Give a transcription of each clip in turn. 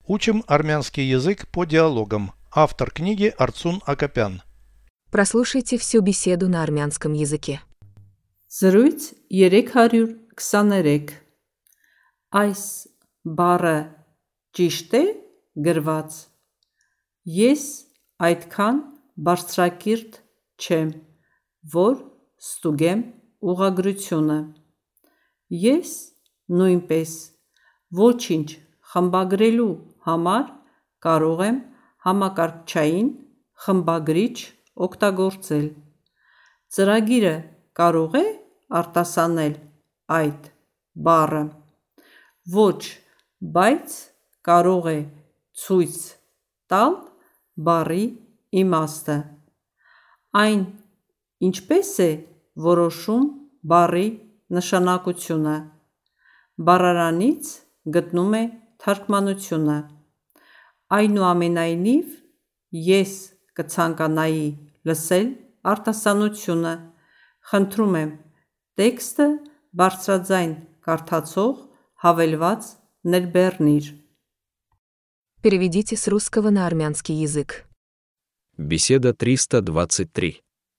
Учим армянский язык по диалогам. Автор книги Арцун Акопян. Прослушайте всю беседу на армянском языке. Զրույց 323 Այս բառը ճիշտ է գրված։ Ես այդքան բարձրակիրթ չեմ, որ ստուգեմ ուղղագրությունը։ Ես նույնպես ոչինչ խմբագրելու համար կարող եմ համակարգչային խմբագրիչ օգտագործել։ Ծրագիրը կարող է արտասանել այդ բառը։ Ոչ, բայց կարող է ցույց տալ բառի իմաստը։ Այն ինչպես է որոշում բառի նշանակությունը։ Բառարանից գտնում է թարգմանությունը։ Այնուամենայնիվ, ես կցանկանայի լսել արտասանությունը։ Խնդրում եմ տեքստը բարձրաձայն կարդացող հավելված ներբեռնիր։ Переведите с русского на армянский язык. Беседа 323.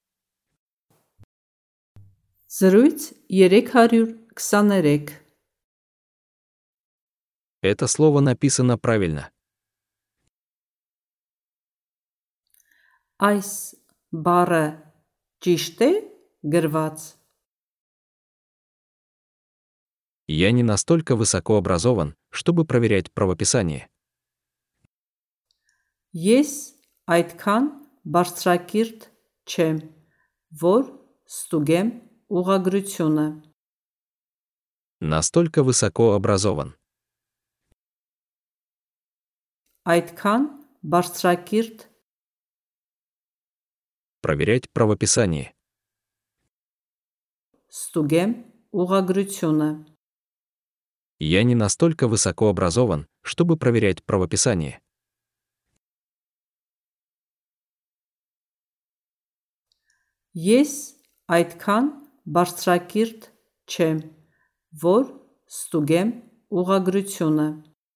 Զրույց 323 Это слово написано правильно. Այս բառը ճիշտ է գրված։ Я не настолько высокообразован, чтобы проверять правописание. Ես այդքան բարձրակիրթ չեմ, որ ստուգեմ ուղղագրությունը։ Настолько высокообразован. Այդքան բարձրակիրթ Проверять правописание. ստուգեմ ուղղագրությունը։ Я не настолько высокообразован, чтобы проверять правописание. Ես այդքան բարձրակիրթ չեմ, որ ստուգեմ ուղղագրությունը։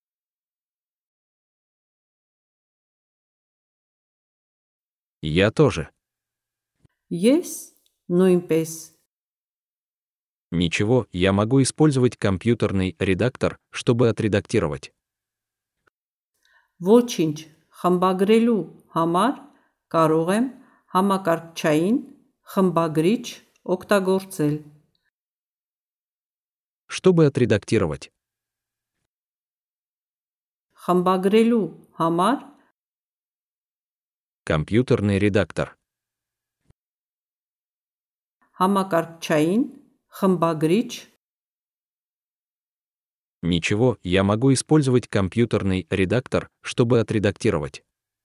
Я тоже. Ես նույնպես Ничего, я могу использовать компьютерный редактор, чтобы отредактировать. ոչինչ խմբագրելու համար կարող եմ համակարգչային խմբագրիչ օգտագործել։ Чтобы отредактировать. Խմբագրելու համար Компьютерный редактор. համակարգչային խմբագրիչ Ничего, я могу использовать компьютерный редактор, чтобы отредактировать.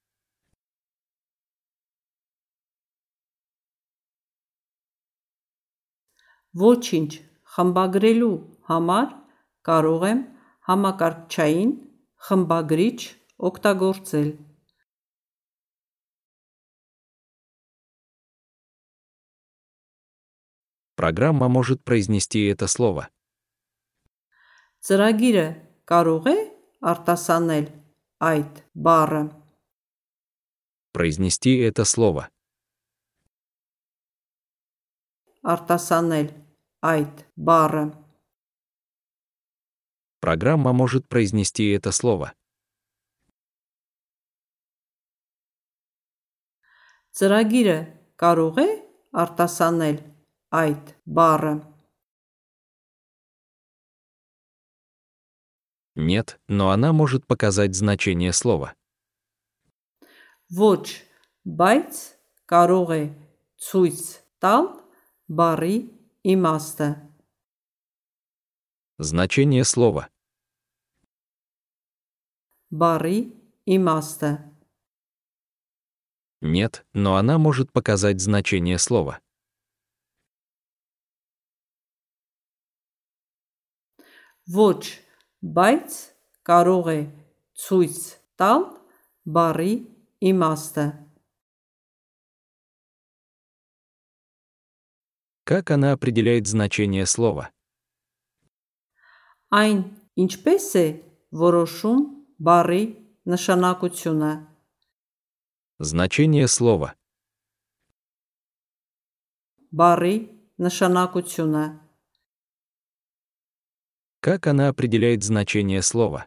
ոչինչ խմբագրելու համար կարող եմ համակարգչային խմբագրիչ օգտագործել։ Программа может произнести это слово. Ծրագիրը կարող է արտասանել այդ բառը։ Произнести это слово. Արտասանել այդ բառը։ Программа может произнести это слово. Ծրագիրը կարող է արտասանել այդ բառը։ Нет, но она может показать значение слова. Ոչ, բայց կարող է ցույց տալ բառի իմաստը։ Значение слова. Բառի իմաստը։ Нет, но она может показать значение слова. Ոչ, բայց կարող է ցույց տալ բառի իմաստը։ Как она определяет значение слова? Այն ինչպես է որոշում Բառի նշանակությունը. Значение слова. Բառի նշանակությունը. Как она определяет значение слова?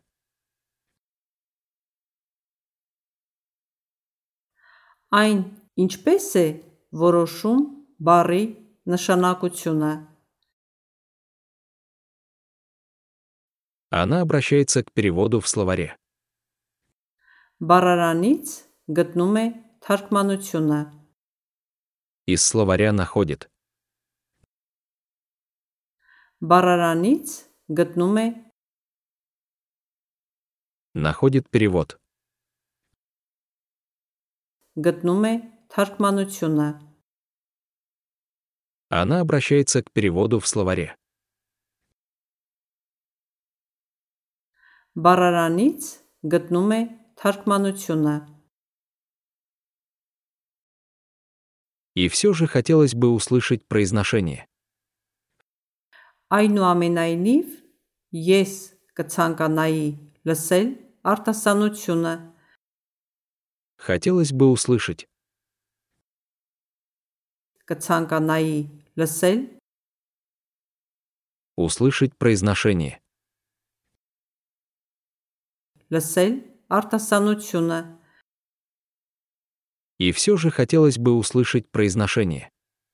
Այն ինչպես է որոշում բառի նշանակությունը. Она обращается к переводу в словаре. Բառարանից գտնում է թարգմանությունը. Из словаря находит. Բառարանից գտնում է Находит перевод. գտնում է թարգմանությունը. Она обращается к переводу в словаре. Բառարանից գտնում է թարգմանությունը. И все же хотелось бы услышать произношение. Այնուամենայնիվ, ես կցանկանայի լսել արտասանությունը. Хотелось бы услышать. Կցանկանայի լսել Услышать произношение. լսել արտասանությունը. И все же хотелось бы услышать произношение.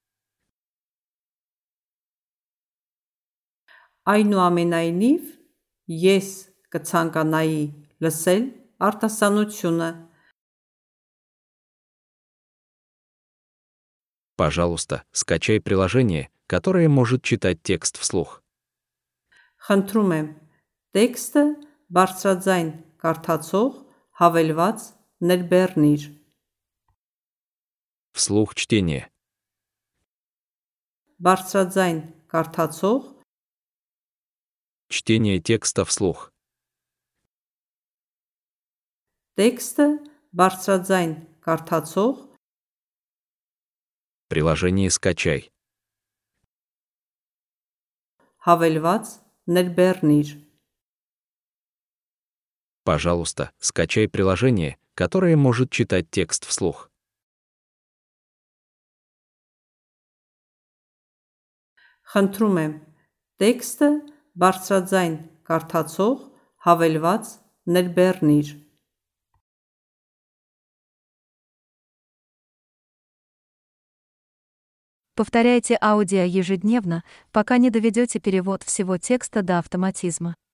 Այնուամենայնիվ, ես կցանկանայի լսել արտասանությունը. Пожалуйста, скачай приложение, которое может читать текст вслух. Խնդրում եմ, տեքստը բարձրաձայն կարդացող հավելված ներբեռնիր. Вслух чтение. Բարձրաձայն կարդացող Чтение текста вслух. տեքստը բարձրաձայն կարդացող Приложение скачай. հավելված ներբեռնիր. Пожалуйста, скачай приложение, которое может читать текст вслух. Խնդրում եմ, տեքստը բարձրաձայն կարդացող հավելված ներբեռնիր. Повторяйте аудио ежедневно, пока не доведете перевод всего текста до автоматизма.